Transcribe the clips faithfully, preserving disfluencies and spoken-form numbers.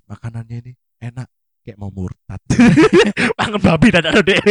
makanannya ini enak kayak mau murtad. Pangan babi dan ada deh.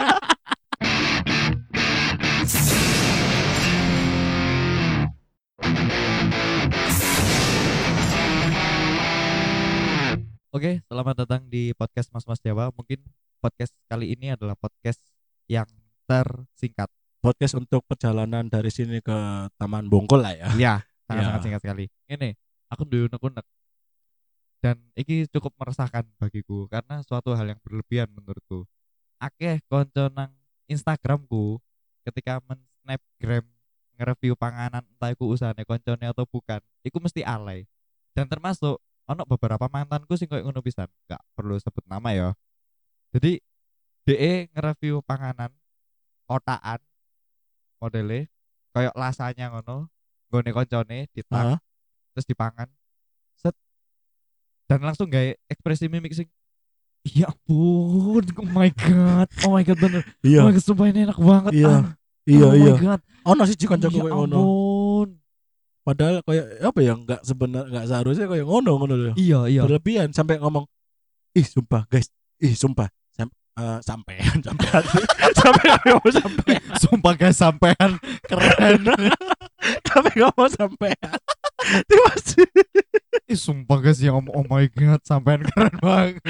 Oke, selamat datang di podcast Mas Mas Jawa. Mungkin podcast kali ini adalah podcast yang tersingkat. Podcast untuk perjalanan dari sini ke Taman Bongkol lah ya. Ya, sangat-sangat Ya. singkat sekali. Ini aku dulu unek-unek dan ini cukup meresahkan bagiku karena suatu hal yang berlebihan menurutku. Akeh konco nang Instagramku ketika men-snapgram nge-review panganan entah iku usahane koncone atau bukan, iku mesti alay. Dan termasuk ono beberapa mantanku sing koyo ngono pisan, gak perlu sebut nama ya. Jadi D E nge-review panganan otakan modele koyo lasanya ngono, nggone koncone ditak Hah? terus dipangan. Set dan langsung gawe ekspresi mimik sing ya ampun, oh my god, oh my god bener. Iya. Oh my god, sumpah ini enak banget. Iya. ah. Iya oh iya. my god. Ono sih kancaku Ya koyo ngono. ampun. Padahal kayak apa ya enggak sebenar enggak seharusnya kayak ngono ngono loh. Iya, iya. Berlebihan sampai ngomong, "Ih, sumpah, guys. Ih, sumpah." Sam uh, sampean sampean. Sampai ngomong sampean. Sumpah guys, sampean keren. Sampai ngomong sampean. Terima kasih. Ih, sumpah guys yang ngomong oh my god, sampean keren banget.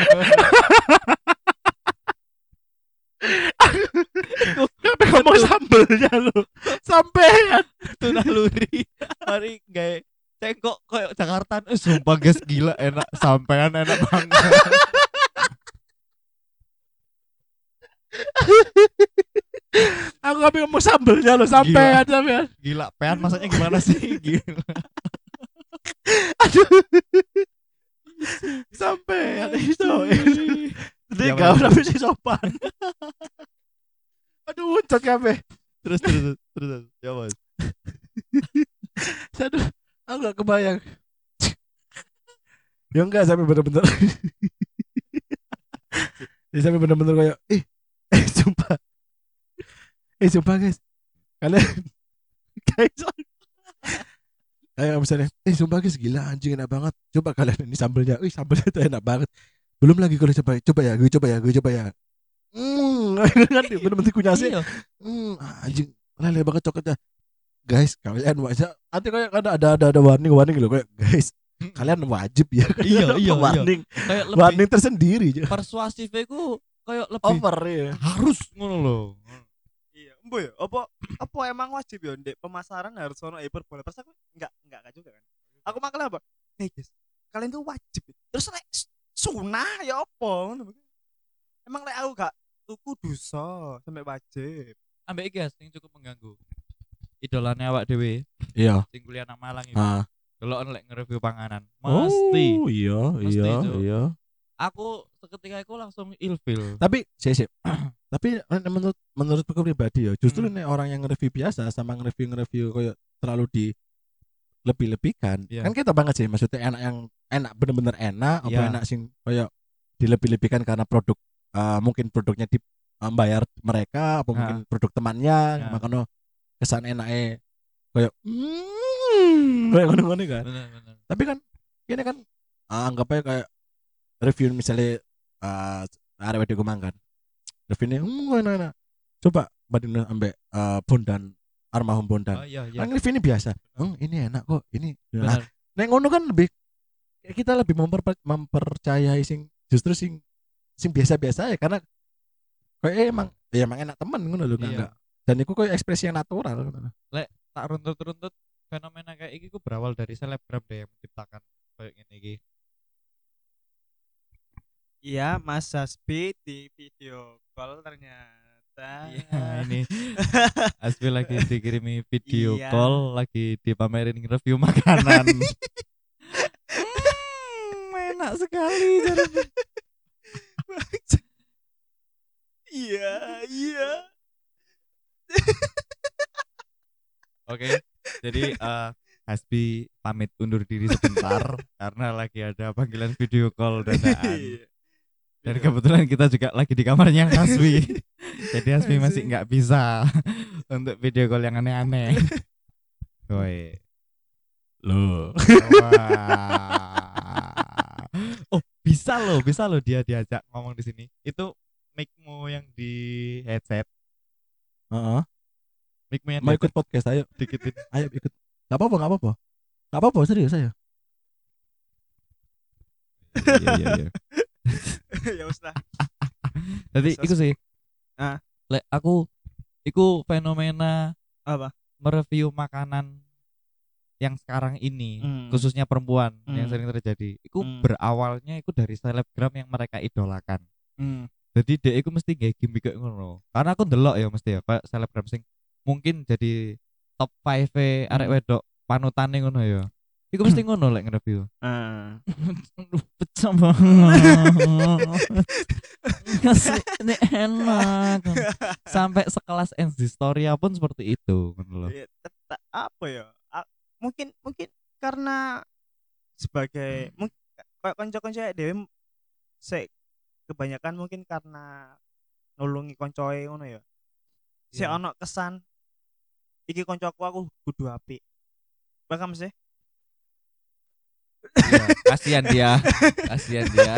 Sampai ngomong sambelnya lo. Sampean. Itu naluri. Mari gawe cengkok koyo Jakarta. Eh, sumpah guys gila enak, sampean enak banget. Aku sampai ngomong sambelnya lo, sampean sampean. Gila, pean masaknya gimana sih? Gila. Aduh. Sampean itu. Jadi Ya, kau Mas. tapi si sopan. Aduh, uncat kabeh. Terus terus terus ya Mas. Aduh, aku gak kebayang. Ya enggak sampai bener-bener. Ya sampai bener-bener kayak, eh, eh, sumpah. Eh, sumpah guys. Kalian, guys. Kayak misalnya, eh, sumpah guys, gila anjing enak banget. Coba kalian ini sambelnya, ih sambelnya itu enak banget. Belum lagi kalau coba, coba ya, gue coba ya, gue coba ya. Hmm, kan bener-bener kunyasi. Iya. Hmm, anjing, lele banget coklatnya. Guys, kalian wajib. Nanti kayak ada ada ada ada warning warning loh kayak guys. Kalian wajib ya. Iya, iya, iya. Warning, Kayak lebih warning tersendiri. persuasif iku kayak lebih Over ya. harus ngono loh. Iya, embo ya. Apa apa emang wajib ya ndek pemasaran harus ono hiperbola. Pas aku enggak enggak kan juga kan. Aku makan apa? Hey guys, kalian tuh wajib. Terus lek sunah ya apa ngono. Emang lek aku gak tuku dosa sampai wajib. Ambek iki guys, sing cukup mengganggu. Idolane awak dhewe, Iya. sing kuliah nang Malang iki. Ah. Delok lek nge-review panganan. Mesti. Oh, iya, Mesti, iya, Cuk. iya. Aku seketika itu langsung ilfil. Tapi sih sih. Tapi eh, menurut menurutku pribadi ya, justru Hmm. nih orang yang nge-review biasa sama nge-review nge-review kayak terlalu di lebih-lebihkan. Iya. Kan kita banget sih maksudnya enak yang enak bener-bener enak apa Iya. enak sing kayak dilebih-lebihkan karena produk eh, mungkin produknya di eh, bayar mereka apa Nah. mungkin produk temannya Nah. makanya kesan enaknya kayak hmm kayak ngono-ngono kan. Bener, bener. Tapi kan ini kan ah, anggap aja kayak review misalnya uh, ada wedi gue makan reviewnya hmm enak-enak coba bandingin ambek uh, Bondan Armahum Bondan Oh iya, iya. kan review ini biasa hmm ini enak kok ini nah Bener. nek ngono kan lebih kayak kita lebih memper, mempercayai sing justru sing sing biasa-biasa ya karena kayak eh, emang ya emang enak temen ngono lho Iya. enggak dan itu kayak ekspresi yang natural ngono. Tak runtut-runtut fenomena kayak iki ku berawal dari selebgram deh yang menciptakan kayak gini iki. Iya, Mas Hasbi di video call ternyata. Iya, ini Aspi lagi dikirimi video Iya. call, lagi dipamerin review makanan. Hmm, enak sekali. jadi- Iya, iya. Oke, jadi eh Hasbi pamit undur diri sebentar karena lagi ada panggilan video call dadaan. Iya. Dan kebetulan kita juga lagi di kamarnya Hasbi. Jadi Hasbi masih nggak bisa untuk video call yang aneh-aneh. Woi. Loh. Wah. Oh, bisa loh, bisa loh dia diajak ngomong di sini. Itu mic-mu yang di headset, Heeh. mic-mu yang di Mau ikut headset podcast ayo. dikitin. Ayo ikut. Gak apa-apa, gak apa-apa. Gak apa-apa serius ayo. Iya iya iya. Ya wis lah. Jadi Sos- iku sih. Ah. Lek aku iku fenomena Apa? mereview makanan yang sekarang ini, Hmm. khususnya perempuan yang Hmm. sering terjadi. Iku Hmm. berawalnya iku dari selebgram yang mereka idolakan. Hmm. Jadi dia iku mesti nggak gimmick kayak ngono. Karena aku ndelok ya mesti ya kayak selebgram sing mungkin jadi top five arek Hmm. wedok panutane ngono ya. Iku mesti ngono lek nge-review. Ah. Pecah banget. Ngasih ini enak. Sampai sekelas Instastoria pun seperti itu ngono loh. Ya, tetap apa ya? A- mungkin mungkin karena sebagai mungkin kayak konco-konco dhewe sik kebanyakan mungkin karena nulungi koncoe ngono ya. Sik Iya. ono kesan iki koncoku aku kudu apik. Paham sih? Iya, kasihan dia. Kasihan dia.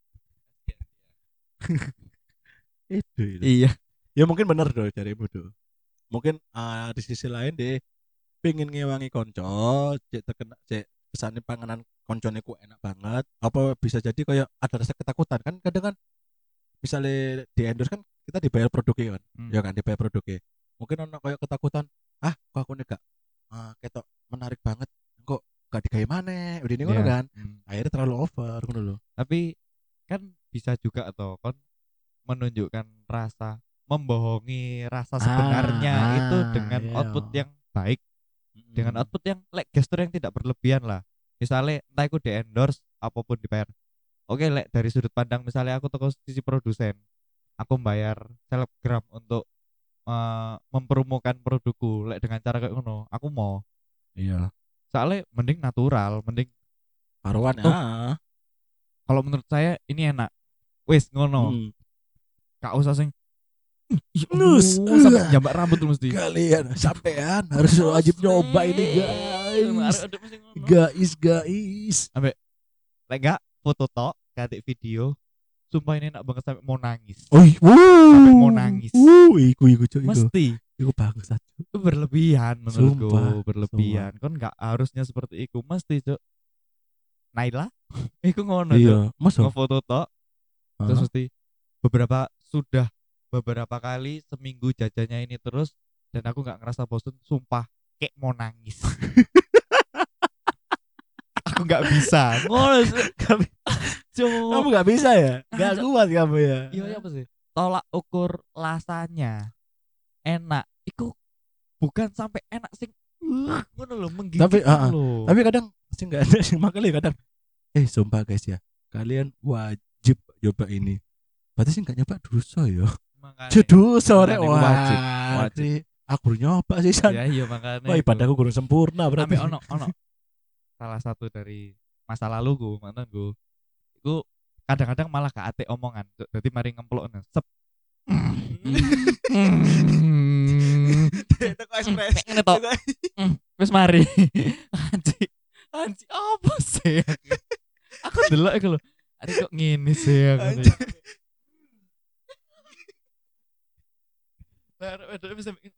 Itu, itu. Iya. Ya mungkin bener doh carimu doh. Mungkin ah, di sisi lain deh pengen ngewangi konco, cek terkena cek kesane panganan koncone ku enak banget. Apa bisa jadi kayak ada rasa ketakutan kan kadang kan misalnya di endorse kan kita dibayar produknya kan. Hmm. Ya kan dibayar produknya. Mungkin ono kayak ketakutan, ah kok aku nih gak ah, ketok menarik banget. Kok gak digawe maneh. Udah ini ngono Iya. kan. Hmm. Akhirnya terlalu over ngono loh. Tapi kan bisa juga atau kon menunjukkan rasa membohongi rasa Ah, sebenarnya ah, itu dengan iya. output yang baik, dengan Mm. output yang like gestur yang tidak berlebihan lah. Misalnya entah aku di endorse apapun dibayar. Oke, lek dari sudut pandang misalnya aku toko sisi produsen, aku bayar selebgram untuk eh, mempromokan produkku lek dengan cara kayak ngono, aku mau. Iya. Soalnya mending natural, mending Karuan Tuh. ah. kalau menurut saya ini enak. Wis ngono. Mm. Gak usah sing "Ih, Nus, oh, sampai uh. jambak rambut tuh mesti. Kalian sampean harus wajib nyoba ini guys. Harus ada mesti ngono. Guys, guys. Lek gak foto tok, ganti video. Sumpah ini enak banget sampai mau nangis. Oi, wuh. Sampai mau nangis. Wuh, iku iku cuk iku. Mesti Iku bagus satu. itu berlebihan menurutku, Sumpah, berlebihan. Kon nggak harusnya seperti itu, mesti cuk. Naila, iku ngono cuk. Iya, masa? Ngefoto tok, terus mesti beberapa sudah beberapa kali seminggu jajannya ini terus dan aku nggak ngerasa bosan, sumpah kayak mau nangis. Aku nggak bisa. Ngono sih. Kamu Cuk. gak bisa ya? Gak Ada. kuat kamu ya? Iya iya apa sih? Tolak ukur rasanya enak. Iku bukan sampai enak sing uh, ngono lho, menggigit Tapi, ah, ah. lho. Tapi kadang sih nggak ada sih makanya kadang eh sumpah guys ya, kalian wajib coba ini. Berarti sih nggak nyoba dosa ya. Makanya- Judul sore makanya wah. wajib, wajib. Kri, aku baru nyoba sih san. Ya iya makanya. Wah, ibadahku kurang sempurna berarti. Ambil ono ono salah satu dari masa laluku mantanku iku kadang-kadang malah gak ate omongan jadi mari ngemplok sep Itu kok ekspres. ngene tok wis mari anji anji apa sih aku delok iku lho ari kok ngene sih aku Anjir. Lah, wedok bisa bikin,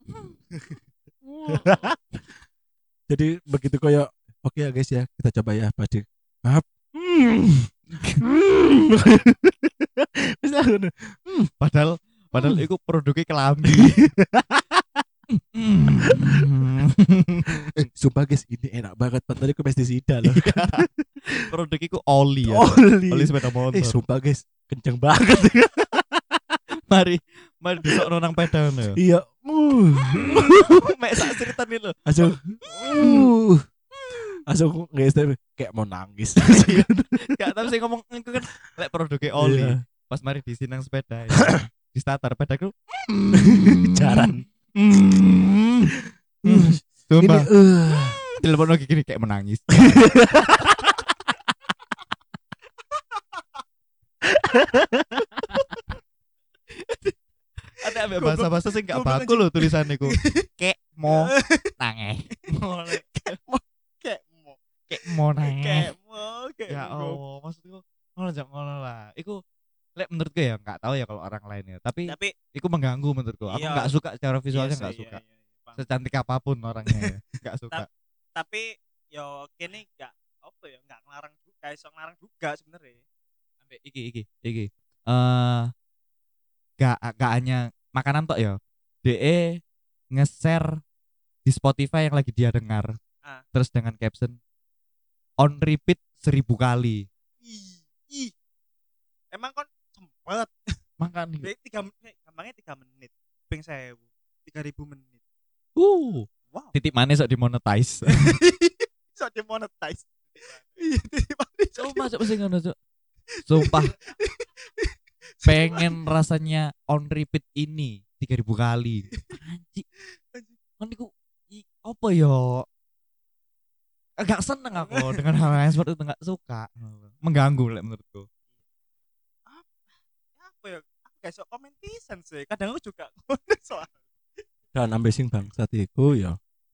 Jadi begitu kayak oke ya guys ya, kita coba ya pasti. Maaf. Hmm. Hmm. Wis lah ngono. padahal padahal iku produknya kelambi. Eh, sumpah guys, ini enak banget. Padahal itu pestisida loh. Produk iku oli ya. Oli. Oli sepeda motor. Eh, sumpah guys, kenceng banget. mari mari disokno nang peda ngono ya. Iya. Uh. Mek sak ceritan iki lho. Langsung. Uh. Langsung guys kayak mau nangis. Gak tahu sih ngomong iku kan lek produknya oli. Iya. Pas mari disinang sepeda ya. Di starter pedaku. Jaran. Hmm. Ini Sumpah. uh. Telepon lagi gini kayak menangis. Ada ambek bahasa-bahasa sih gak Goblok baku loh tulisannya ku. Kek mau nange. Kayak mau Kek mau nange. kayak mau kayak Ya mau. Allah, maksudku ngono Cok, ngono lah. Iku lek menurutku ya enggak tahu ya kalau orang lain ya, tapi Tapi iku mengganggu menurutku. Aku iya, enggak suka secara visualnya, iya enggak sih, suka. iya, iya, iya, paham. Secantik apapun orangnya ya, enggak suka. Tapi yo kene enggak apa ya, enggak ngelarang juga, iso ngelarang juga sebenarnya. Sampai iki iki iki. Eh gak gak hanya makanan tok ya. D E nge-share di Spotify yang lagi dia dengar. Ah. Terus dengan caption on repeat seribu kali. Ih, ih. Emang kon sempet Makan Jadi tiga menit, gampangnya tiga menit, ping sewu, tiga ribu menit. Uh, Wow. titik manis sok dimonetize. So demonetize. Iya, titik manis. Oh, masuk pasti ngono, Cuk. Sumpah. Pengen rasanya on repeat ini tiga ribu kali. Anjing. Kan iku i- apa ya? Agak seneng aku dengan hal yang seperti itu, enggak suka. Mengganggu lek menurutku. Apa ya? Aku gak sok komen pisan sih. Kadang aku juga ngono soal. Dan ambil sing bangsat iku ya.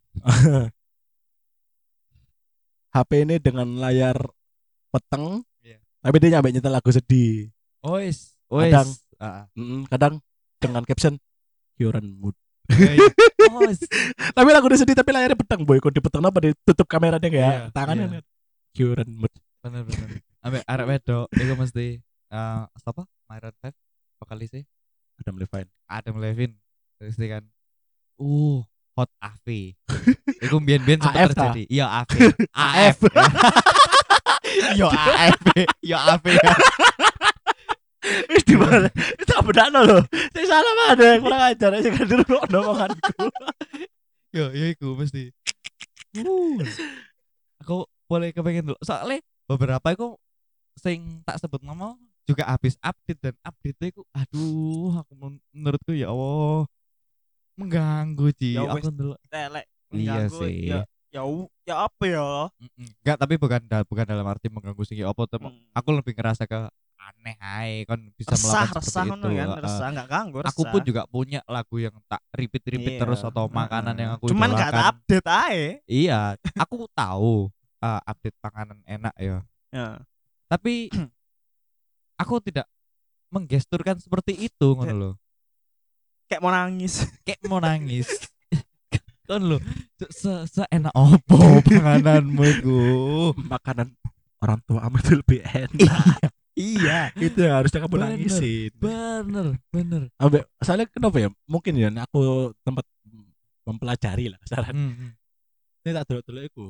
H P ini dengan layar peteng, Iya. tapi dia nyampe nyetel lagu sedih. Ois, Kadang. ois. Heeh. Mm, kadang dengan caption Kioran mood. Ois. Tapi lagu dia sedih tapi layarnya peteng boy. Kok dipeteng apa ditutup kameranya kayak Iya, tangannya. iya. Kioran mood. Bener bener. Ambek arek wedok iku mesti eh apa? Myron Five vokalisnya Adam Levine. Adam Levine. Terus dia kan uh hot A V. Iku mbien-mbien A sempat F ta? terjadi. Iya A V. A F. Yo A F. Yo A V. Wis di mana? Itu tak bedakno lho. Sing salah mana? Kurang ajar sing kandur omonganku. Yo yo iku mesti. Uh. Aku boleh kepengen dulu. Soalnya beberapa iku sing tak sebut nama juga habis update dan update iku aduh aku men- menurutku ya Allah mengganggu Ci. Ya wis. Aku dulu. Telek. Iya Mengganggu, sih. Ya, ya, u- ya apa ya? Enggak, tapi bukan dal- bukan dalam arti mengganggu sing ya apa tuh. Hmm. Aku lebih ngerasa ke aneh ae kon bisa Resah, melakukan resah seperti ngono itu. kan, Heeh. resah enggak ganggu, resah. Aku pun juga punya lagu yang tak repeat-repeat Iya. terus atau makanan yang aku Cuman enggak ada idolakan. update ae. Iya, aku tahu uh, update panganan enak ya. Ya. Tapi aku tidak menggesturkan seperti itu ngono Kayak- loh. Kayak mau nangis. Kayak mau nangis. Kan lo se seenak opo pangananmu iku. Makanan orang tua kamu itu lebih enak. Iya, Itu yang harusnya kamu Bener. nangisin. bener, bener. Ambek soalnya kenapa ya? Mungkin ya aku tempat mempelajari lah saran. Hmm, hmm. Ini tak dulu-dulu iku.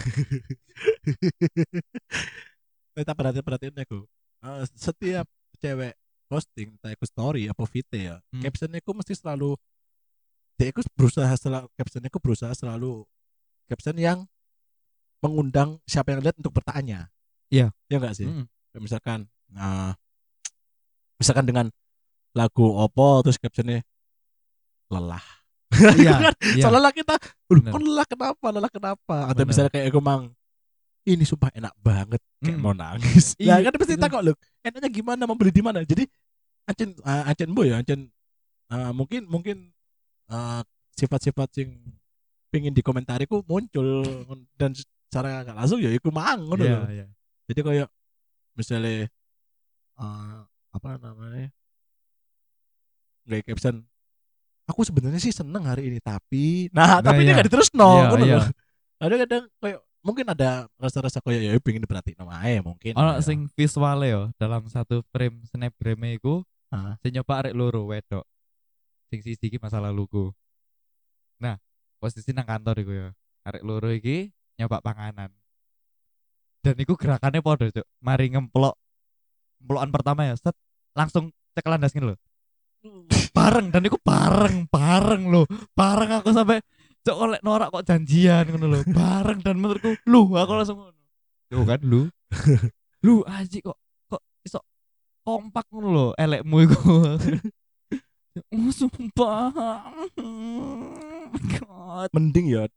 Ini tak perhatian-perhatian aku. Eh, setiap cewek posting entah iku story apa video ya, Hmm. captionnya aku mesti selalu dia iku berusaha selalu captionnya aku berusaha selalu caption yang mengundang siapa yang lihat untuk bertanya. Iya. Ya enggak sih? Hmm. Kayak misalkan nah misalkan dengan lagu opo terus captionnya lelah. Iya, iya. Soalnya lah kita, "Loh, Bener. kok lelah kenapa? Lelah kenapa?" Atau Bener. misalnya kayak aku mang, ini sumpah enak banget, kayak Hmm. mau nangis. Iya, Lah kan pasti itu. takut loh, enaknya gimana, mau beli di mana? Jadi ancen uh, ancen boy ya, ancen uh, mungkin mungkin uh, sifat-sifat yang pingin dikomentariku muncul dan secara nggak langsung ya iku mang ngono Iya, loh. iya. Jadi kayak misalnya uh, apa namanya? Nggak caption aku sebenarnya sih seneng hari ini tapi nah, Nah, tapi dia iya. gak diterus no Iya, ngono iya. loh. Kadang-kadang kayak mungkin ada rasa-rasa kayak ya pengen diperhatiin sama ae mungkin. Ono ya. sing visuale yo dalam satu frame snapgram iku Ah. sing nyoba arek loro wedok. Sing siji iki masa laluku. Nah, posisi nang kantor iku ya. Arek loro iki nyoba panganan. Dan iku gerakannya podo, Cuk. Mari ngemplok. Emplokan pertama ya, set langsung cekelan das ngene lho. Bareng dan iku bareng, bareng lho. Bareng aku sampai cok oleh norak kok janjian ngono lho. Bareng dan menurutku lu aku langsung ngono. Yo kan lu. Lu aji kok kok iso kompak ngono lho elekmu iku. Oh sumpah. Oh my God. Mending ya.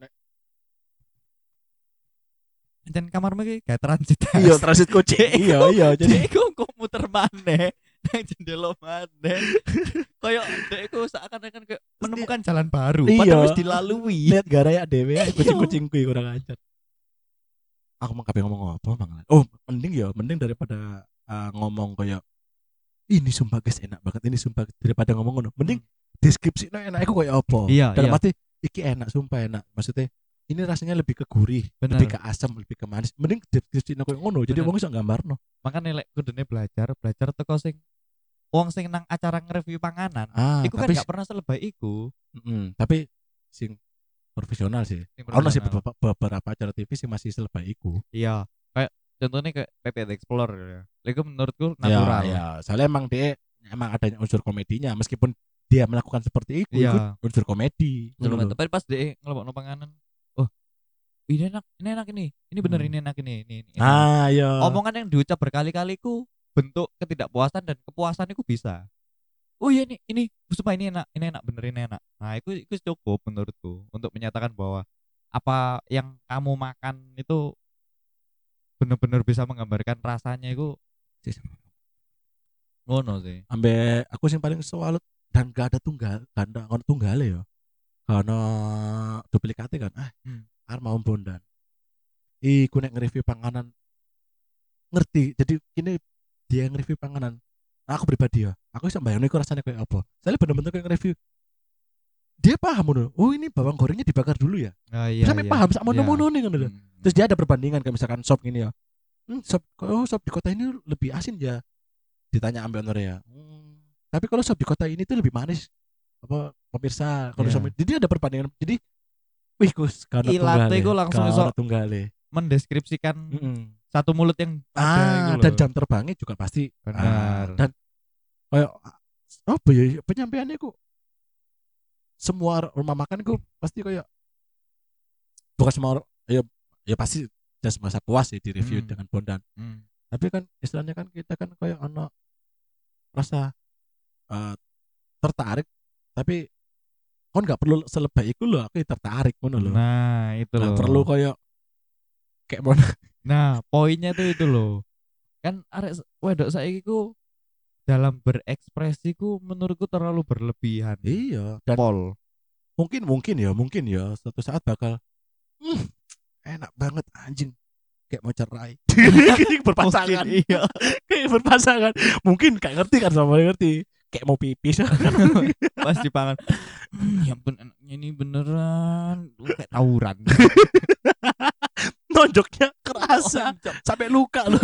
Dan kamarmu iki kayak transit. Iya transit kucing. Dek, iya iya jadi Dek iku kok muter maneh nang jendela maneh. Kayak dek iku seakan-akan kayak menemukan jalan baru Iya. padahal wis dilalui. lihat gara ya dewe kucing-kucingku kurang ajar. aku mau kabeh ngomong apa mangan. Oh, mending ya, mending daripada uh, ngomong kayak ini sumpah guys enak banget ini sumpah daripada ngomong ngono. Mending deskripsi no enak aku kayak apa. Iya, Dalam iya. arti iki enak sumpah enak. Maksudnya ini rasanya lebih ke gurih, Bener. lebih ke asam, lebih ke manis. Mending deskripsi no kayak ngono. Jadi Bener. wong iso nggambarno. Makanya lek kudune belajar, belajar teko sing wong sing nang acara nge-review panganan. Ah, Iku kan tapi gak pernah selebay iku. mm, tapi sing profesional sih. Sing Ono sih profesional. beberapa, beberapa acara T V sih masih selebay iku. Iya, kayak contohnya kayak P P T Explorer ya. Itu menurutku Ya, natural. ya. Soalnya emang dia emang adanya unsur komedinya meskipun dia melakukan seperti itu, Iya. itu unsur komedi. Cuma Ngono lho. tapi pas dia ngelebokno panganan, oh, ini enak, ini enak ini. Ini bener Hmm. ini enak ini, ini, ini enak. Ah, ya. Omongan yang diucap berkali-kali ku bentuk ketidakpuasan dan kepuasan itu bisa. Oh iya ini ini sumpah ini enak, ini enak bener ini enak. Nah, itu itu cukup menurutku untuk menyatakan bahwa apa yang kamu makan itu bener-bener bisa menggambarkan rasanya itu ngono sih. Ambe aku sing paling salut dan gak ada tunggal, gak ada ono tunggale ya. Karena duplikate kan. Ah, Hmm. arep mau bondan. Iku nek nge-review panganan ngerti. Jadi ini dia nge-review panganan. Aku pribadi ya, aku bisa bayangin iku rasanya kayak apa. Soalnya bener-bener kayak nge-review. Dia paham ngono. Oh, ini bawang gorengnya dibakar dulu ya. Ah, iya, Sampai iya. paham sak Iya. mono-mono nih ngono lho. Hmm. Terus dia ada perbandingan kayak misalkan sop gini ya. Hmm, sop oh sop di kota ini lebih asin ya. Ditanya ambil honor ya. Hmm, tapi kalau sop di kota ini tuh lebih manis. Apa pemirsa kalau Iya. sop jadi ada perbandingan. Jadi wih Gus, karena Ilate tunggale. iku langsung iso Karena tunggale. mendeskripsikan Mm-mm. satu mulut yang ada Ah, gitu dan loh. jam terbangnya juga pasti Benar. ah, dan kayak apa ya penyampaiannya kok semua rumah makan kok pasti kayak bukan semua or- ya ya pasti dan merasa puas sih di review Hmm. dengan bondan. Hmm. Tapi kan istilahnya kan kita kan kayak ono rasa eh, tertarik tapi kon nggak perlu selebay iku loh aku tertarik ngono loh. Nah, itu Nggak loh. perlu kayak kayak mau Nah, poinnya tuh itu loh. Kan arek s- wedok saiki ku dalam berekspresi ku menurutku terlalu berlebihan. iya dan Pol. mungkin mungkin ya mungkin ya suatu saat bakal "Hmm, enak banget anjing kayak mau cerai kayak berpasangan Mungkin iya. kayak berpasangan mungkin kayak ngerti kan sama ngerti kayak mau pipis Pas dipangan. Hmm, ya ampun enaknya ini beneran Lu kayak tawuran. nonjoknya kerasa Onjok. sampai luka loh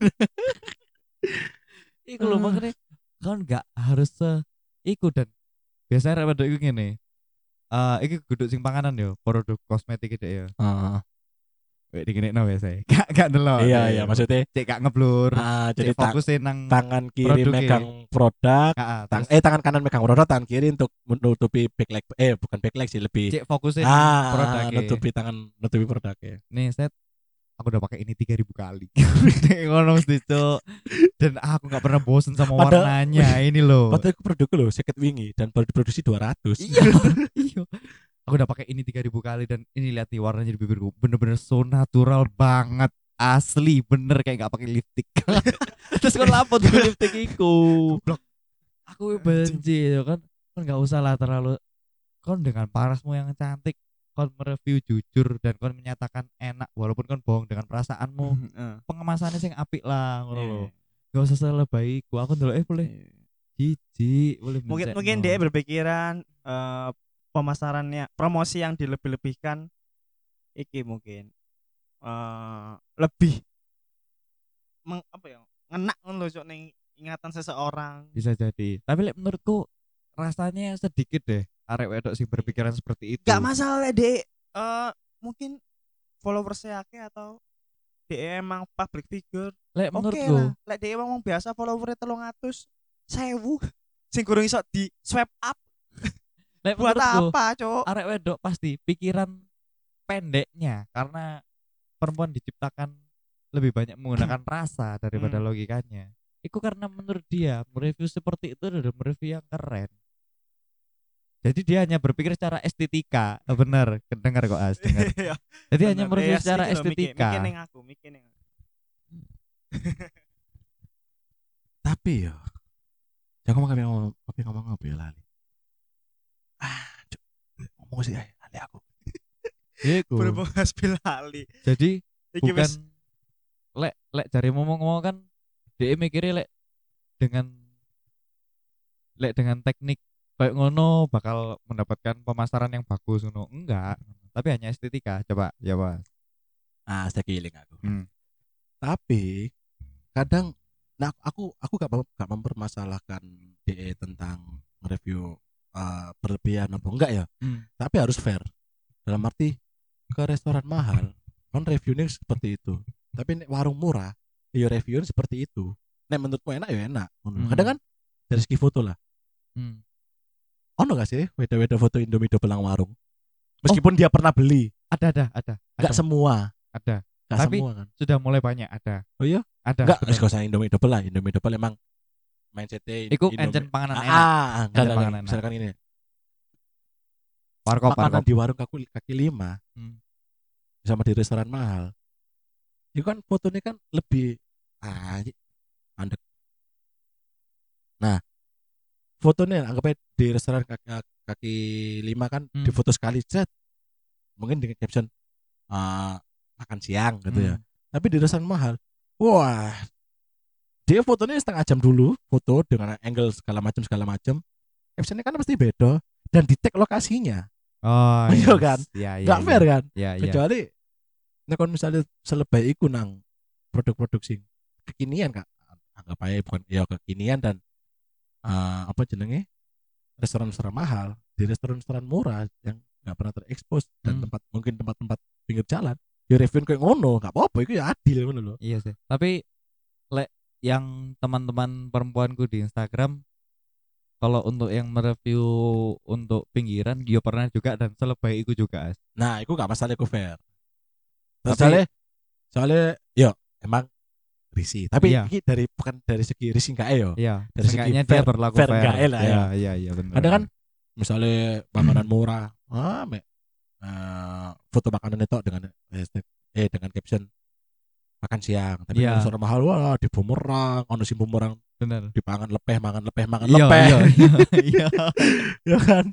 Iku lho Ah. makanya kan nggak harus se iku dan biasanya rek wedok iku ngene. Eh iki kudu sing panganan yo, produk kosmetik iki ya. Ah, Wek digenekno biasa. Gak gak delok. iya iya maksudnya cek gak ngeblur. ah, jadi Cek tang- fokusin nang tangan kiri produknya. megang produk Heeh, tang terus eh tangan kanan megang produk tangan kiri untuk menutupi backlight eh bukan backlight sih lebih cek fokusin ah produknya. nutupi tangan nutupi produknya Nih set aku udah pakai ini tiga ribu kali. Ngono mesti Cuk. Dan aku nggak pernah bosen sama Padahal- warnanya ini loh. padahal itu produknya loh seket wingi dan baru diproduksi dua ratus Iya, iya. Aku udah pakai ini tiga ribu kali dan ini lihat nih warnanya di bibirku bener-bener so natural banget. Asli bener kayak gak pakai lipstick. Terus kan lapor tuh lipstick iku. Aku benci ya kan. Kan gak usah lah terlalu kon dengan parasmu yang cantik kon mereview jujur dan kon menyatakan enak walaupun kon bohong dengan perasaanmu. Heeh. Pengemasannya sing apik lah ngono lho. Iya. Gak usah selebay iku. Aku ndelok eh boleh jijik, boleh Mungkin mencekno. mungkin dia berpikiran eh, pemasarannya promosi yang dilebih-lebihkan iki mungkin eh lebih meng, apa ya ngenak ngono lho Cuk, ning ingatan seseorang. Bisa jadi. Tapi lek menurutku rasanya sedikit deh arek wedok sing berpikiran seperti itu. Gak masalah deh eh mungkin followersnya akeh atau dia emang public figure. Lek Oke menurutku, lah, lek dia emang biasa followernya telung atus sewu sing kurang iso di swipe up lek buat menurutku apa, Cuk? arek wedok pasti pikiran pendeknya karena perempuan diciptakan lebih banyak menggunakan rasa daripada Hmm. logikanya. Itu karena menurut dia mereview seperti itu adalah mereview yang keren. Jadi dia hanya berpikir secara estetika. Oh, bener, dengar kok As, dengar. Iya. Jadi hanya Bener. mereview Yes, secara iki lho, mikir- estetika. Mikir ning aku, mikir ning aku. tapi ya jangan ngomong apa ngomong apa ngomong apa ya lali ah Cuk. ngomong sih ay, lali aku Iku. Berhubung Hasbil Ali. Jadi Iki bukan wis lek lek cari ngomong-ngomong kan dia mikirnya lek dengan lek dengan teknik kayak ngono bakal mendapatkan pemasaran yang bagus ngono. Enggak, tapi hanya estetika. Coba ya, Mas. Ah, saya giling aku. Hmm. Tapi kadang nah aku aku gak, mem- gak mempermasalahkan D E tentang review uh, berlebihan apa enggak ya. Hmm. Tapi harus fair. Dalam arti ke restoran mahal kan reviewnya seperti itu. Tapi nek warung murah ya reviewnya seperti itu. Nek menurutmu enak ya enak. Ngono. Hmm. Kadang kan dari segi foto lah. Hmm. Ono gak sih weda-weda foto Indomie double nang warung? Meskipun dia pernah beli, Ada ada ada. gak Ada. semua, Ada. gak Tapi semua kan. sudah mulai banyak ada. Oh iya? Ada. Enggak, bener. gak usah Indomie double lah. Indomie double emang mindsetnya Iku Indomie- encen panganan ah, enak. Ah, enggak, Encen enggak, panganan enggak. enak. Misalkan ini Warkop makanan warkop. di warung kaki, kaki lima Hmm. sama di restoran mahal. Itu kan fotonya kan lebih ah, andek. Nah, fotonya anggapnya di restoran kaki, kaki lima kan Hmm. di foto sekali set. Mungkin dengan caption ah, makan siang gitu ya. Hmm. Tapi di restoran mahal, wah, dia fotonya setengah jam dulu, foto dengan angle segala macam segala macam. Captionnya kan pasti beda dan di tag lokasinya, Oh, Iya yes. kan? Ya, ya, nggak ya. fair kan? Ya, ya. Kecuali, nah kalau misalnya selebay iku nang produk-produk sing kekinian kak, anggap aja bukan ya kekinian dan eh, apa jenenge restoran-restoran mahal di restoran-restoran murah yang nggak pernah terekspos dan Hmm. tempat mungkin tempat-tempat pinggir jalan, ya review kayak ngono, nggak apa-apa, itu ya adil ngono loh. Iya sih. Tapi lek yang teman-teman perempuanku di Instagram kalau untuk yang mereview untuk pinggiran dia pernah juga dan selebay itu juga As. Nah, itu nggak masalah, itu fair. Terus Tapi- soalnya, soalnya, yo emang risih. Tapi Iya. ini dari bukan dari segi risih nggak yo. Iya, Dari segi seenggaknya fair- dia berlaku fair fair. nggak lah ya. Iya, iya, iya benar. Ada kan, misalnya makanan murah, ah, me, eh, foto makanan itu dengan hashtag, eh dengan caption makan siang. Tapi Iya. kalau restoran mahal, wah di bumerang, ono si bumerang benar. dipangan lepeh, mangan lepeh, mangan Iya, lepeh, iya, iya, iya. ya kan?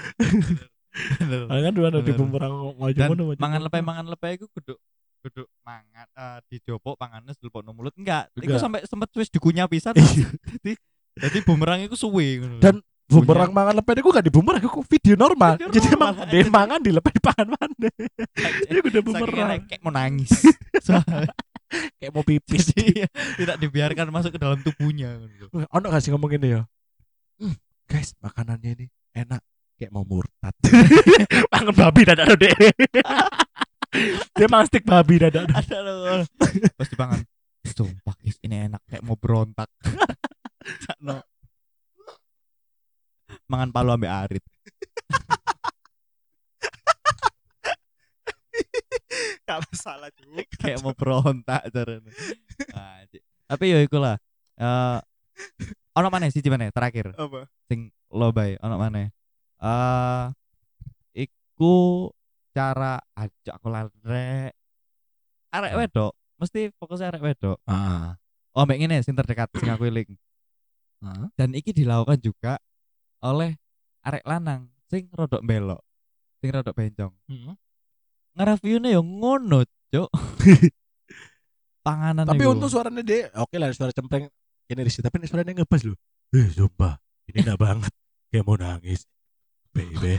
Bener. Ah, kan dua di Bener. bumerang maju Dan ngono, maju mangan ngono. lepeh mangan lepeh iku kudu kudu mangan eh dijopok panganes dilebokno mulut enggak. Iku Enggak. sampai sempet wis dikunyah pisan. Iya. Jadi jadi bumerang iku suwe ngono. Dan bumerang mangan lepeh itu gak di bumerang, itu video normal. Video Jadi normal, emang dia jadi- mangan di lepeh pangan mana. Itu udah Saking bumerang. enak, kayak mau nangis. Soalnya Kayak mau pipis. jadi tidak dibiarkan masuk ke dalam tubuhnya ngono. Ono gak sih ngomong gini ya? "Hmm, guys, makanannya ini enak kayak mau murtad." Mangan babi dadak deh. Dia mangan stik babi dadak. Ada loh. Pas dipangan. Sumpah guys, ini enak kayak mau berontak. Sakno. Mangan palu ambek arit. gak masalah juga. Kayak mau berontak caranya. Nah, Cik. Tapi ya iku lah. Eh ono maneh siji maneh terakhir Apa? sing lo bae ono maneh. Eh iku cara ajak aku lare arek wedok, mesti fokusnya arek wedok. Ah. Oh, mbek ngene sing terdekat sing aku eling. Ah. Dan iki dilakukan juga oleh arek lanang sing rodok belok, sing rodok bencong. Hmm. Nge-reviewnya yo ngono, Cuk. Panganan Tapi iku. untung suaranya dia oke lah, suara cempreng ini risih, tapi ini suaranya ngebas loh. Eh, sumpah, ini enak banget. Kayak mau nangis. Baby.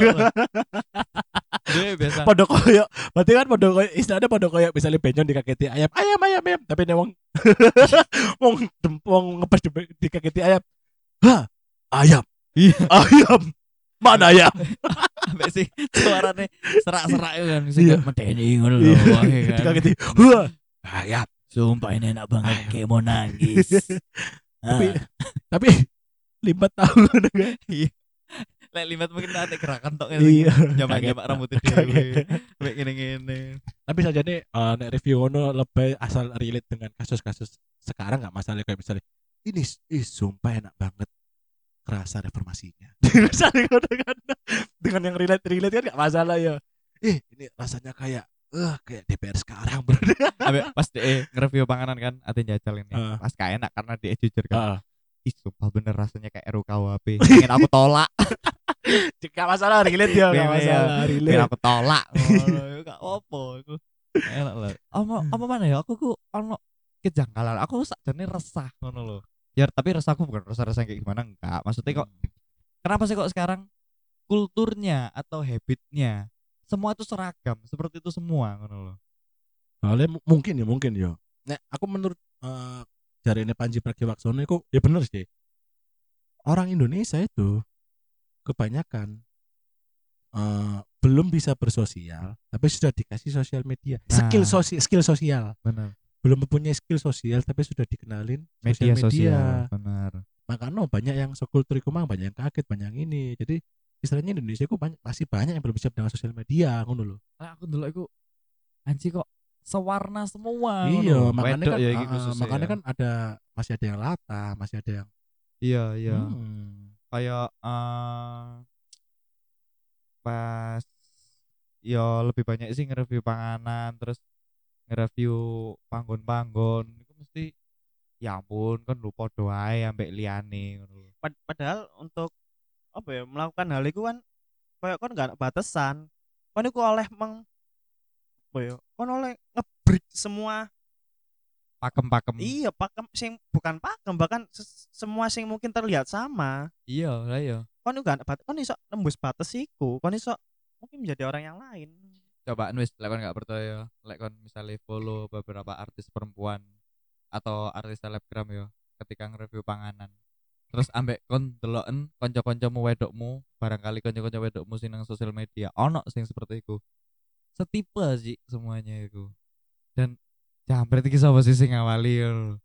Dia biasa. Pada koyo, berarti kan pada koyo istilahnya pada koyo misalnya bencong dikaketi ayam, ayam ayam ayam, tapi nih wong wong dem- wong ngepas di- dikaketi ayam. Hah, ayam. Iya. Ayam. Mana ayam? Ambek sih suarane serak-serak itu kan sing Iya. medeni ngono lho. Iya. wae kan. Dikaketi. Wah, ayam. Sumpah ini enak banget Ayam. kayak mau nangis. Tapi Ah. tapi limbat tahu ngono kan. Lek limat mungkin nanti gerakan tok Iya. Nyamak-nyamak Kaget. rambutnya Kaget. dhewe. Kayak ngene-ngene. Tapi saja nih eh, nek review ngono lebih asal relate dengan kasus-kasus sekarang nggak masalah, kayak misalnya ini ih sumpah enak banget kerasa reformasinya. Misalnya ngono kan. Dengan yang relate relate kan nggak masalah ya. Eh ini rasanya kayak eh kayak D P R sekarang bro. Ambek pas de nge-review panganan kan ate jajal ini. Ah. Pas gak enak karena dia jujur kan. Heeh. Ih sumpah bener rasanya kayak R U K U H P. Pengen aku tolak. Gak masalah relate ya, gak Iya, masalah Pengen relate. aku tolak. Ngono, gak apa-apa iku. Enak lah. Apa apa mana ya? Aku ku ono kejanggalan. Aku sakjane resah ngono lho. Ya tapi resahku bukan resah-resah kayak gimana enggak. Maksudnya kok kenapa sih kok sekarang kulturnya atau habitnya semua itu seragam seperti itu semua ngono loh. Soalnya mu- mungkin ya mungkin ya. Nek aku menurut eh dari ini Panji Pragiwaksono itu ya bener sih. Orang Indonesia itu kebanyakan eh, belum bisa bersosial, tapi sudah dikasih sosial media. Skill Nah, sosial, skill sosial. benar. Belum mempunyai skill sosial, tapi sudah dikenalin sosial Media media. sosial, benar. Makanya banyak yang sekultur iku mang, banyak yang kaget, banyak yang ini. Jadi istilahnya Indonesia itu banyak, masih banyak yang belum siap dengan sosial media, ngono loh. Lah aku dulu aku anji kok sewarna semua Iya, ngono. makanya Wedok kan ya uh, iki uh, khususnya makanya ya. kan ada masih ada yang lata, masih ada yang Iya, iya. hmm, Kayak eh pas ya lebih banyak sih nge-review panganan terus nge-review panggon-panggon itu mesti ya ampun kan lu podo ae ambek liyane ngono lho. Pad- padahal untuk apa ya melakukan hal itu kan kayak kan gak ada batasan kan itu oleh meng apa ya kan oleh ngebreak semua. Pakem-pakem. Iya pakem sing bukan pakem bahkan ses- semua sing mungkin terlihat sama Iya, lah iya. kan itu gak ada batas kan iso nembus batas iku kan iso mungkin menjadi orang yang lain. Coba wis lek kon gak percaya, lek kon misalnya follow beberapa artis perempuan atau artis selebgram ya ketika nge-review panganan. Terus ambek kon deloken kanca-kancamu wedokmu, barangkali kanca-kanca wedokmu sing nang sosial media ono sing seperti iku. Setipe sih semuanya itu. Dan jambret iki sapa sih sing ngawali ngono lho.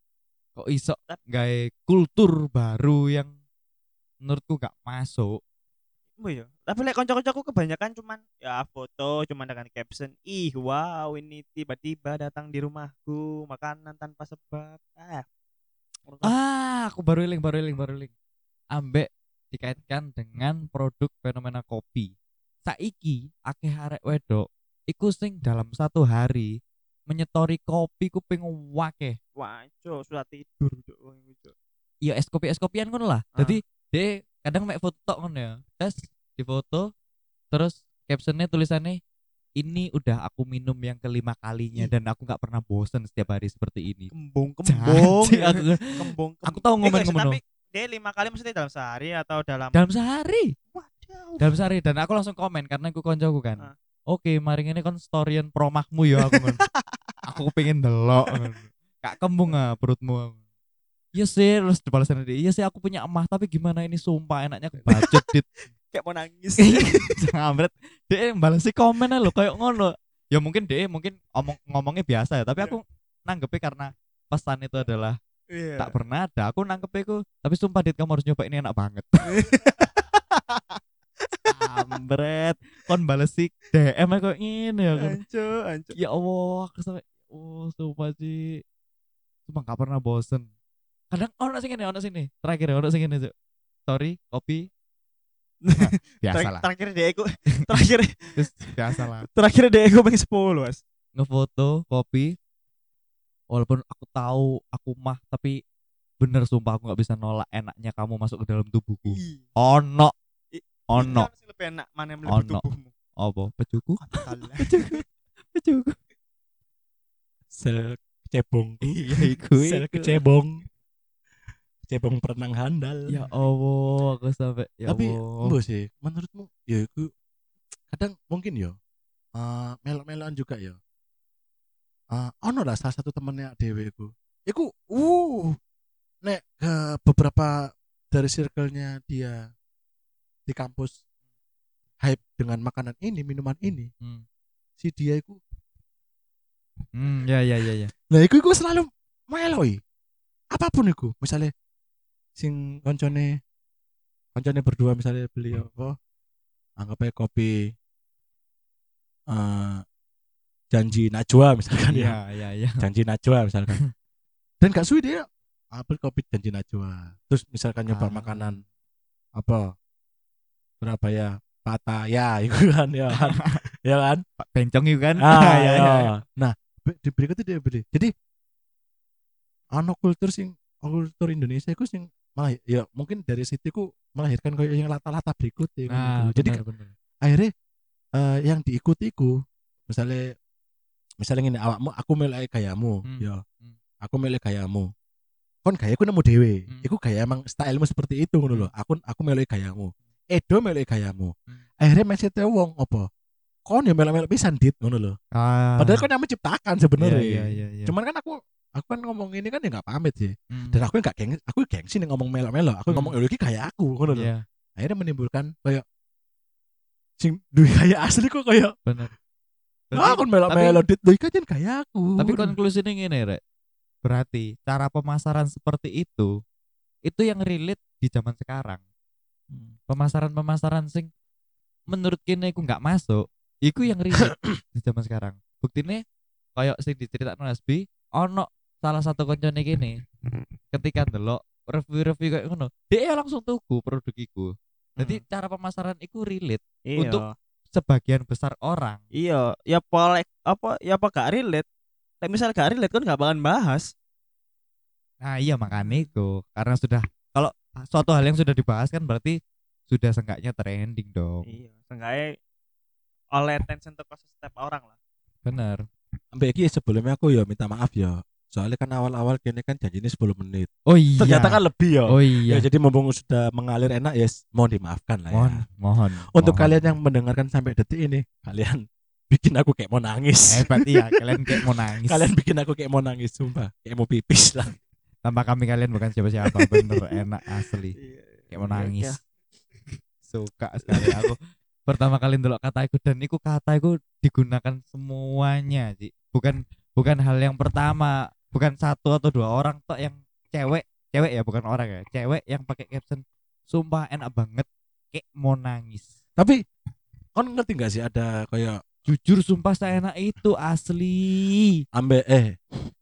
Kok iso gawe kultur baru yang menurutku gak masuk. Oh iya tapi lek konco-koncoku kebanyakan cuman ya foto cuman dengan caption ih wow ini tiba-tiba datang di rumahku makanan tanpa sebab ah menurut aku, Ah, aku baru eling, baru eling, baru eling. Ambek dikaitkan dengan produk fenomena kopi. Saiki akeh arek wedok iku sing dalam satu hari menyetori kopi ku ping wakeh. wah cok sudah tidur cok wong iku, Cok. Ya es kopi es kopian ngono lah. Ah. Jadi dia kadang mek foto tok ngono ya. Tes di foto terus captionnya tulisannya ini udah aku minum yang kelima kalinya Ih. dan aku nggak pernah bosen setiap hari seperti ini. kembung kembung Janji aku kembung aku tahu ngomen Eh, ngono. tapi dia lima kali maksudnya dalam sehari atau dalam Dalam sehari. waduh Dalam sehari dan aku langsung komen karena aku koncoku kan. Ah. Oke, mari ini kon storyan promahmu ya aku ngono. Aku pengen delok ngono. Kak kembung ah perutmu. Iya sih, terus dibalasan dia. Iya sih aku punya emah tapi gimana ini sumpah enaknya kebacut dit. kayak mau nangis Ngambret. Dia balasi komen aja lo kayak ngono. Ya mungkin dia mungkin omong ngomongnya biasa ya, tapi aku nanggepnya karena pesan itu adalah Iya. tak pernah ada. Aku nanggepnya itu, tapi sumpah dit kamu harus nyoba ini enak banget. Ambret, kon bales sih D M aja kok ngene ya kan. anco anco Ya Allah, aku sampai oh sumpah sih. Cuma gak pernah bosen. Kadang ono sing ngene, ono sini. Terakhir ono sing ngene, Cuk. Sorry, kopi. Nah, biasa Ter- lah. terakhir dia aku terakhir Terus biasa lah. terakhir dia aku pengen sepuluh mas Ngefoto kopi. Walaupun aku tahu aku mah tapi bener sumpah aku nggak bisa nolak enaknya kamu masuk ke dalam tubuhku. Ih. Ono, I- ono. Ini sih lebih enak mana yang lebih Ono. tubuhmu Apa? Pecuku? Alah. Pecuku. Pecuku. sel kecebong. Iya iku. Sel iku. kecebong. Kecebong perenang handal. Ya Allah, aku sampai ya Tapi Allah. mbok sih, menurutmu ya iku kadang mungkin ya eh melok-melokan juga ya. Eh ono lah salah satu temennya dhewe iku. Iku uh nek ke beberapa dari circle-nya dia di kampus hype dengan makanan ini, minuman ini, Hmm. si dia iku Hmm, ya ya ya ya. lah iku iku selalu meloi. Apapun iku, misalnya sing koncone koncone berdua misalnya beli apa anggap aja kopi eh janji Najwa misalkan ya. Iya, iya, iya. Janji Najwa misalkan. Dan gak suwi dia ambil kopi janji Najwa. Terus misalkan nyoba Ah. makanan apa Surabaya Pattaya itu kan ya kan. Ya kan? Pak Bencong itu kan. Ah, ya, ya. ya. Nah, be- di berikutnya dia beli. Jadi ana kultur sing kultur Indonesia iku sing malah ya mungkin dari situ ku melahirkan kayak yang lata-lata berikut ya, Nah, gitu. Jadi benar, benar. akhirnya eh, yang diikuti ku misalnya misalnya ngene awakmu aku melek gayamu, Hmm. ya. Hmm. Aku melek gayamu. Kon gayaku nemu dhewe. Hmm. Iku gaya emang stylemu seperti itu ngono lho. Hmm. Aku aku melek gayamu. Edo melek gayamu. Hmm. Akhirnya mindset wong apa? Kon ya melek-melek pisan dit ngono lho. Ah. Padahal kon yang menciptakan sebenarnya. Iya, iya, iya, iya. Cuman kan aku aku kan ngomong ini kan ya enggak pamit sih. Hmm. Dan aku enggak geng aku gengsi nih ngomong melok-melok. Aku Hmm. ngomong ya iki gaya aku ngono lho. Iya, Akhirnya menimbulkan kayak sing duwe gaya asli kok kayak bener. ah kon melok-melok dit duwe kan gaya aku. Tapi konklusinya gini rek, berarti cara pemasaran seperti itu itu yang relate di zaman sekarang. Hmm. Pemasaran-pemasaran sing menurut kene iku nggak masuk, iku yang relate di zaman sekarang. Buktine kayak sing diceritakno Hasbi, ono salah satu koncone kene ketika ndelok review-review kayak ngono, dia langsung tuku produk iku. Jadi Hmm. cara pemasaran iku relate Iya. untuk sebagian besar orang. Iya, ya polek apa ya apa gak relate. Tapi misal gak relate kan gak bakalan bahas. Nah iya makanya itu karena sudah kalau suatu hal yang sudah dibahas kan berarti sudah seenggaknya trending dong. Iya, seenggaknya oleh attention ke setiap orang lah. Bener. Sampai iki sebelumnya aku ya minta maaf ya. Soalnya kan awal-awal kini kan janjinya sepuluh menit. Oh iya. Ternyata kan lebih ya. Oh iya. Ya jadi mumpung sudah mengalir enak ya mohon dimaafkan lah ya. Mohon, mohon. Untuk mohon. kalian yang mendengarkan sampai detik ini, kalian bikin aku kayak mau nangis. hebat iya kalian kayak mau nangis. Kalian bikin aku kayak mau nangis sumpah, kayak mau pipis lah. Tanpa kami kalian bukan siapa-siapa bener enak asli. Kayak mau nangis. Suka sekali aku. Pertama kali ndelok kata iku dan iku kata iku digunakan semuanya, Ci. Bukan bukan hal yang pertama, bukan satu atau dua orang tok yang cewek, cewek ya bukan orang ya. Cewek yang pakai caption sumpah enak banget kayak mau nangis. Tapi kon ngerti gak sih ada kayak Jujur sumpah saya enak itu asli. ambe eh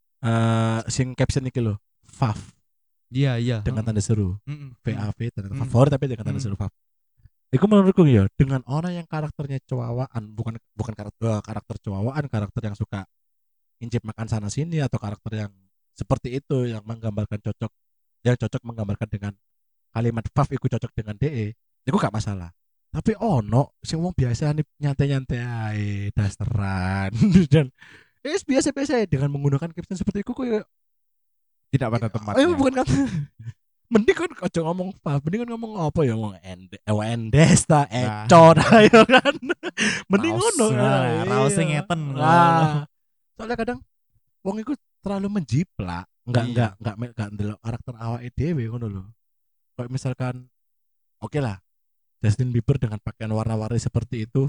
eh sing caption iki lho, fav Iya iya. dengan tanda seru. Mm-mm. V A V tanda Hmm. favorit tapi dengan tanda Hmm. seru fav. Iku menurutku ya dengan orang yang karakternya cowaan, bukan bukan karakter karakter cowaan, karakter yang suka incip makan sana sini atau karakter yang seperti itu yang menggambarkan cocok yang cocok menggambarkan dengan kalimat fav iku cocok dengan D E, iku gak masalah. Tapi ono sing wong biasa nih nyantai-nyantai ae dasteran dan eh biasa-biasa ae dengan menggunakan caption seperti itu kok Tidak pada eh tempatnya. bukan kata mending kan ojo ngomong fav, mending kan ngomong apa ya ngomong ende wendes ta Nah. ecor ayo kan. Mending Raos, ngono. nah, raos sing Iya. ngeten. Nah, soalnya kadang wong iku terlalu menjiplak, enggak Iya. enggak enggak me- enggak ndelok karakter awake dhewe ngono lho. Kayak misalkan oke lah Justin Bieber dengan pakaian warna-warni seperti itu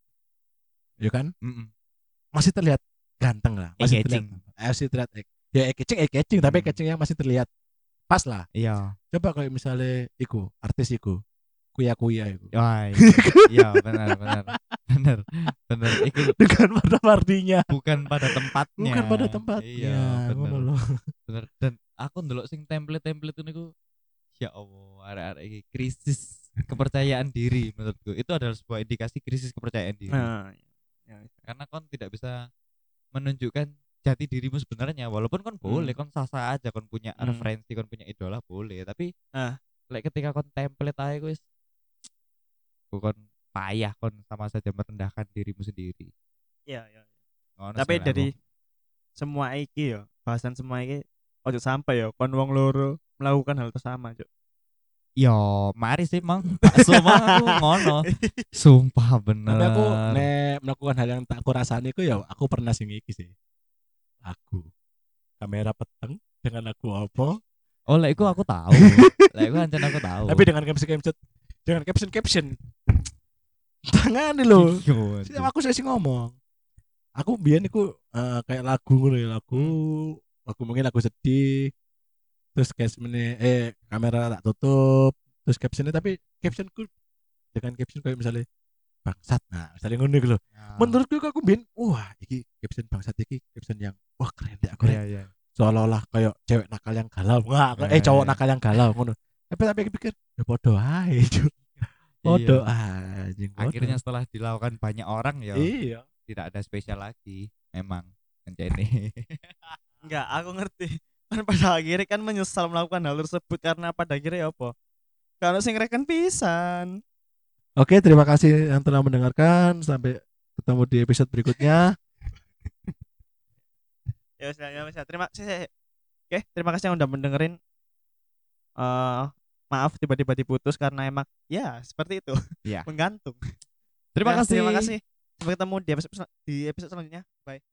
ya kan Mm-mm. masih terlihat ganteng lah, masih terlihat Eye-catching. masih terlihat eh, ya eye-catching eye-catching tapi Hmm. eye-catchingnya masih terlihat pas lah. Iya. Coba kayak misalnya iku artis iku kuya-kuya iku Wah, iya benar benar benar benar. Itu dengan warna-warninya bukan pada tempatnya. bukan pada tempatnya Iya, ngono benar. loh. Bener. Dan aku ndelok sing template-template itu niku ya Allah, arek-arek iki krisis kepercayaan diri menurutku. Itu adalah sebuah indikasi krisis kepercayaan diri. Nah, ya. Karena kon tidak bisa menunjukkan jati dirimu sebenarnya walaupun kon boleh kon sah-sah aja kon punya Hmm. referensi kon punya idola boleh tapi Ah. lek ketika kon template aja wis kon payah kon sama saja merendahkan dirimu sendiri. Iya, iya. Ngono Tapi sih lek dari aku. semua iki ya, bahasan semua iki ojo sampai ya kon wong loro melakukan hal tersama, Cuk. Yo, mari sih mang. Semua aku ngono. Sumpah bener. Tapi aku nek melakukan hal yang tak aku rasani iku ya aku pernah sing iki sih. Aku kamera peteng dengan aku apa? Oh, lek iku aku tahu. Lek iku ancen aku tahu. Tapi dengan caption caption dengan caption caption tangan lho. Iya, Si- Aku sih ngomong. Aku biyen iku eh, kayak lagu ngono ya, lagu aku mungkin lagu sedih. Terus captionnya eh kamera tak tutup, terus captionnya tapi captionku dengan caption kayak misalnya bangsat. Nah, misalnya ngono iku lho. Ya. Menurutku aku biyen wah iki caption bangsat iki caption yang wah keren deh aku Iya, iya. seolah-olah kayak cewek nakal yang galau wah eh Eh. cowok nakal yang galau ngono tapi tapi aku pikir ya podo ae Cuk. podo Iya. anjing podo. Akhirnya setelah dilakukan banyak orang ya iya tidak ada spesial lagi. Memang ini. Enggak, aku ngerti. Kan pada akhirnya kan menyesal melakukan hal tersebut karena pada akhirnya ya apa? Kalau sing reken pisan. oke terima kasih yang telah mendengarkan sampai ketemu di episode berikutnya Ya wis ya wis ya. Terima kasih. Oke, terima kasih yang udah mendengerin. Eh maaf tiba-tiba diputus karena emang ya seperti itu. Iya. Menggantung. Terima Ya, kasih. Terima kasih. Sampai ketemu di episode di episode selanjutnya. Bye.